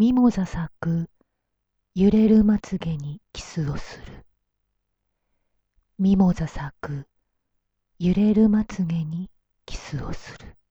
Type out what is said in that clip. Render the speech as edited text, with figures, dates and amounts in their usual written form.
ミモザ咲く揺れるまつげにキスをする。ミモザ咲く揺れるまつげにキスをする。